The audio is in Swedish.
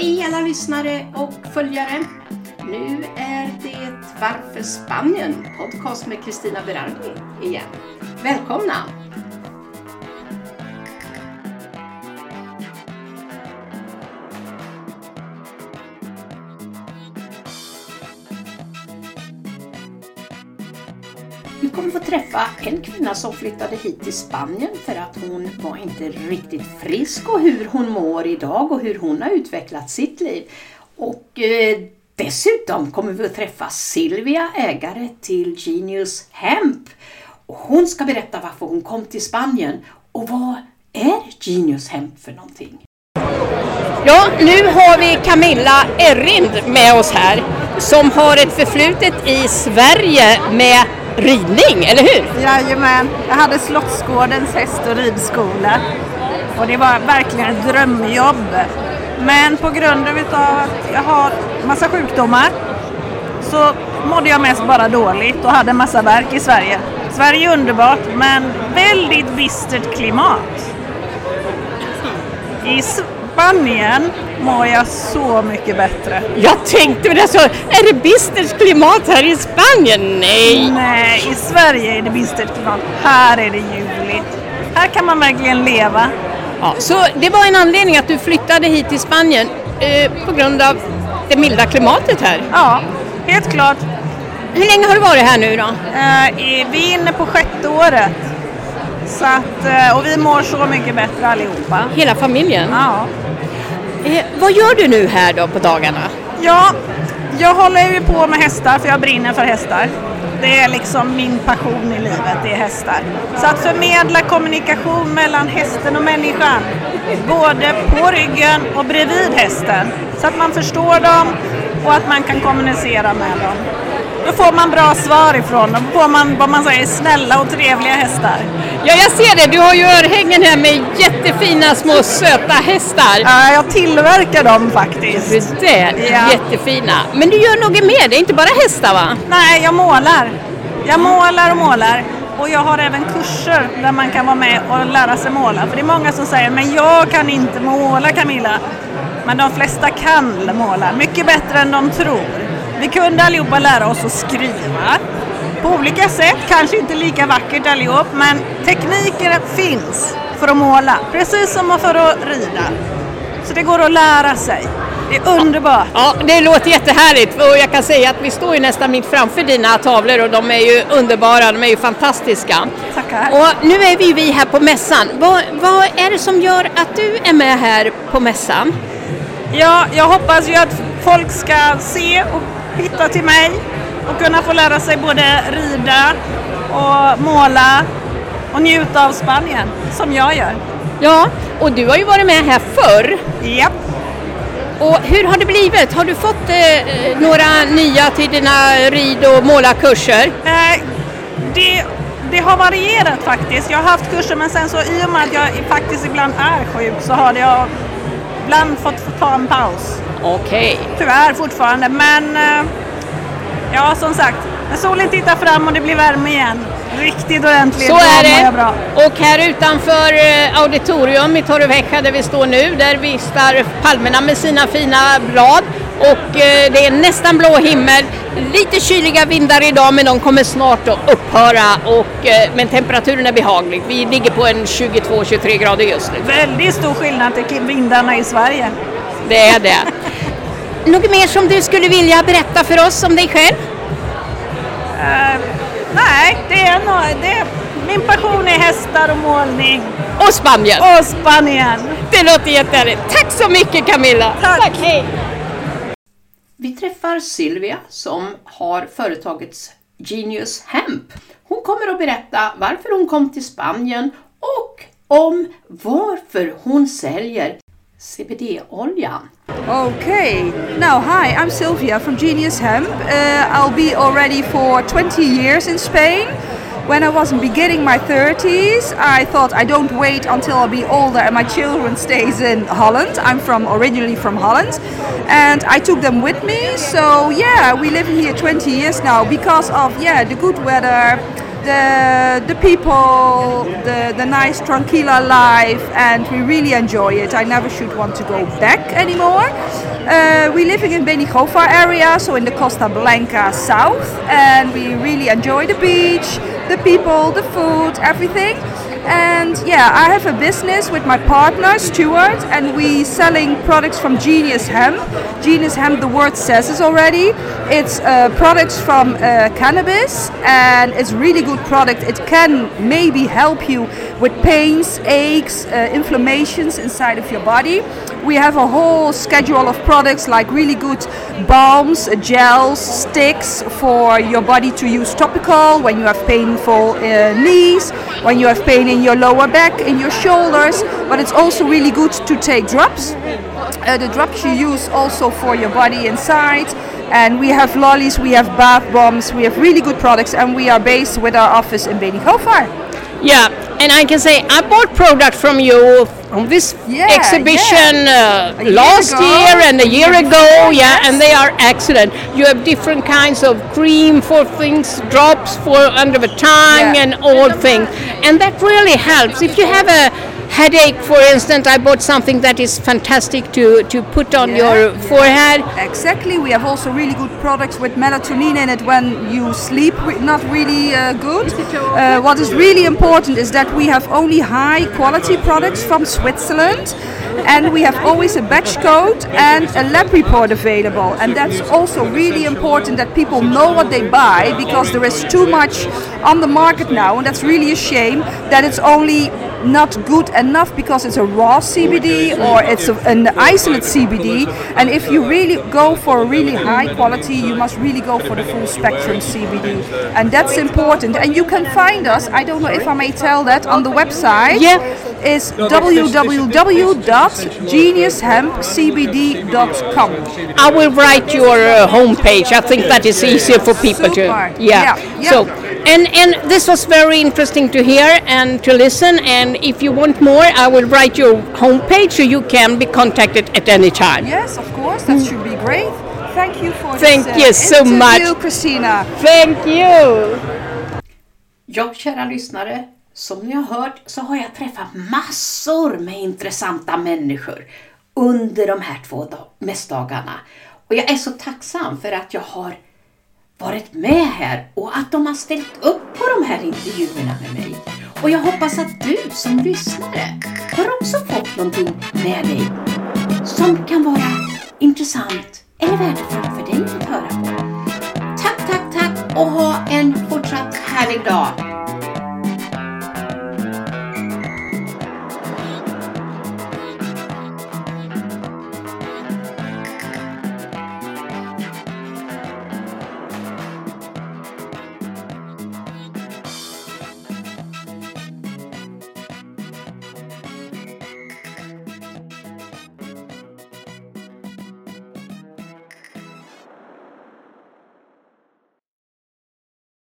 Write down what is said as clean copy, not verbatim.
Hej alla lyssnare och följare. Nu är det Varför Spanien? Podcast med Kristina Berardi igen. Välkomna! Vi kommer få träffa en kvinna som flyttade hit till Spanien för att hon var inte riktigt frisk och hur hon mår idag och hur hon har utvecklat sitt liv. Och dessutom kommer vi att träffa Silvia, ägare till Genius Hemp. Och hon ska berätta varför hon kom till Spanien och vad är Genius Hemp för någonting. Ja, nu har vi Camilla Errind med oss här som har ett förflutet i Sverige med ridning, eller hur? Jajamän, jag hade Slottsgårdens häst- och ridskola och det var verkligen ett drömjobb. Men på grund av att jag har massa sjukdomar så mådde jag mest bara dåligt och hade massa värk i Sverige. Sverige är underbart men väldigt bistert klimat. I Spanien mår jag så mycket bättre. Jag tänkte väl alltså, är det bistert klimat här i Spanien? Nej, i Sverige är det bistert klimat. Här är det ljuvligt. Här kan man verkligen leva. Ja, så det var en anledning att du flyttade hit till Spanien på grund av det milda klimatet här? Ja, helt klart. Hur länge har du varit här nu då? Vi är inne på 6:e året. Så att, och vi mår så mycket bättre allihopa. Hela familjen? Ja. Vad gör du nu här då på dagarna? Ja, jag håller ju på med hästar för jag brinner för hästar. Det är liksom min passion i livet, det är hästar. Så att förmedla kommunikation mellan hästen och människan. Både på ryggen och bredvid hästen. Så att man förstår dem och att man kan kommunicera med dem. Då får man bra svar ifrån dem. Då får man vad man säger snälla och trevliga hästar. Ja, jag ser det. Du har ju örhängen här med jättefina små söta hästar. Ja, jag tillverkar dem faktiskt. Det är ja. Jättefina. Men du gör något mer, det är inte bara hästar va? Nej, jag målar. Jag målar och målar. Och jag har även kurser där man kan vara med och lära sig måla. För det är många som säger, men jag kan inte måla Camilla. Men de flesta kan måla. Mycket bättre än de tror. Vi kunde allihopa lära oss att skriva. På olika sätt, kanske inte lika vackert allihop. Men tekniken finns för att måla. Precis som för att rida. Så det går att lära sig. Det är underbart. Ja, det låter jättehärligt och jag kan säga att vi står ju nästan mitt framför dina tavlor och de är ju underbara, de är ju fantastiska. Tackar. Och nu är vi här på mässan. Vad är det som gör att du är med här på mässan? Ja, jag hoppas ju att folk ska se och hitta till mig och kunna få lära sig både rida och måla och njuta av Spanien som jag gör. Ja, och du har ju varit med här förr. Japp. Och hur har det blivit? Har du fått några nya till dina rid- och målarkurser? Det har varierat faktiskt. Jag har haft kurser men sen så i och med att jag faktiskt ibland är sjuk så har jag ibland fått ta en paus. Okej. Tyvärr fortfarande men ja som sagt, när solen tittar fram och det blir värme igen. Riktigt ordentligt. Så är det. Bra. Och här utanför auditorium i Torrevieja där vi står nu, där vistar palmerna med sina fina blad och det är nästan blå himmel, lite kyliga vindar idag men de kommer snart att upphöra men temperaturen är behaglig. Vi ligger på en 22-23 grader just nu. Väldigt stor skillnad till vindarna i Sverige. Det är det. Något mer som du skulle vilja berätta för oss om dig själv? Nej, min passion är hästar och målning. Och Spanien. Och Spanien. Det låter jättehärligt. Tack så mycket Camilla. Tack. Hej. Vi träffar Silvia som har företagets Genius Hemp. Hon kommer att berätta varför hon kom till Spanien och om varför hon säljer CBD-olja. Okay, now hi, I'm Sylvia from Genius Hemp. I'll be already for 20 years in Spain. When I was beginning my 30s, I thought I don't wait until I'll be older and my children stays in Holland. I'm originally from Holland, and I took them with me. So yeah, we live here 20 years now because of the good weather, the people, the nice tranquila life, and we really enjoy it. I never should want to go back anymore. We're living in Benigova area, so in the Costa Blanca south, and we really enjoy the beach, the people, the food, everything. And yeah, I have a business with my partner Stuart, and we selling products from Genius Hemp. Genius Hemp, the word says it already. It's products from cannabis, and it's really good product. It can maybe help you with pains, aches, inflammations inside of your body. We have a whole schedule of products like really good balms, gels, sticks for your body to use topical when you have painful knees, when you have pain in your lower back, in your shoulders, but it's also really good to take drops. The drops you use also for your body inside. And we have lollies, we have bath bombs, we have really good products, and we are based with our office in Benigova. Yeah, and I can say I bought product from you from this exhibition last year and a year ago, and they are excellent. You have different kinds of cream for things, drops for under the tongue and all things, and that really helps. If you have a headache, for instance, I bought something that is fantastic to put on your forehead. Exactly. We have also really good products with melatonin in it when you sleep not really good. What is really important is that we have only high quality products from Switzerland, and we have always a batch code and a lab report available, and that's also really important that people know what they buy, because there is too much on the market now, and that's really a shame that it's only not good enough because it's a raw CBD or it's an isolate CBD. And if you really go for a really high quality, you must really go for the full spectrum CBD, and that's important. And you can find us, I don't know if I may tell that, on the website. Is www.geniushempcbd.com. I will write your homepage. I think that is easier for people to. So, and this was very interesting to hear and to listen. And if you want more, I will write your homepage so you can be contacted at any time. Yes, of course. That should be great. Thank you for Thank you so much, Christina. Thank you. Ja, kära lyssnare. Som ni har hört så har jag träffat massor med intressanta människor under de här 2 mässdagarna. Och jag är så tacksam för att jag har varit med här och att de har ställt upp på de här intervjuerna med mig. Och jag hoppas att du som lyssnare har också fått någonting med dig som kan vara intressant eller värdefullt för dig att höra på. Tack och ha en fortsatt härlig dag.